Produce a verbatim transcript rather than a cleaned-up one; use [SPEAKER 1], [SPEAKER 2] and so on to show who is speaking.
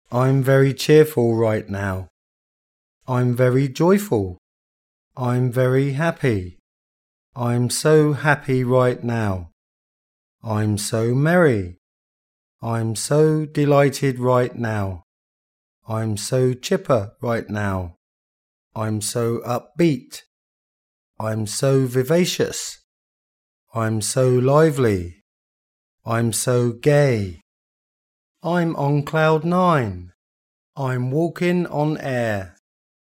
[SPEAKER 1] I'm very cheerful right now. I'm very joyful. I'm very happy. I'm so happy right now. I'm so merry. I'm so delighted right now. I'm so chipper right now. I'm so upbeat. I'm so vivacious. I'm so lively. I'm so gay. I'm on cloud nine. I'm walking on air.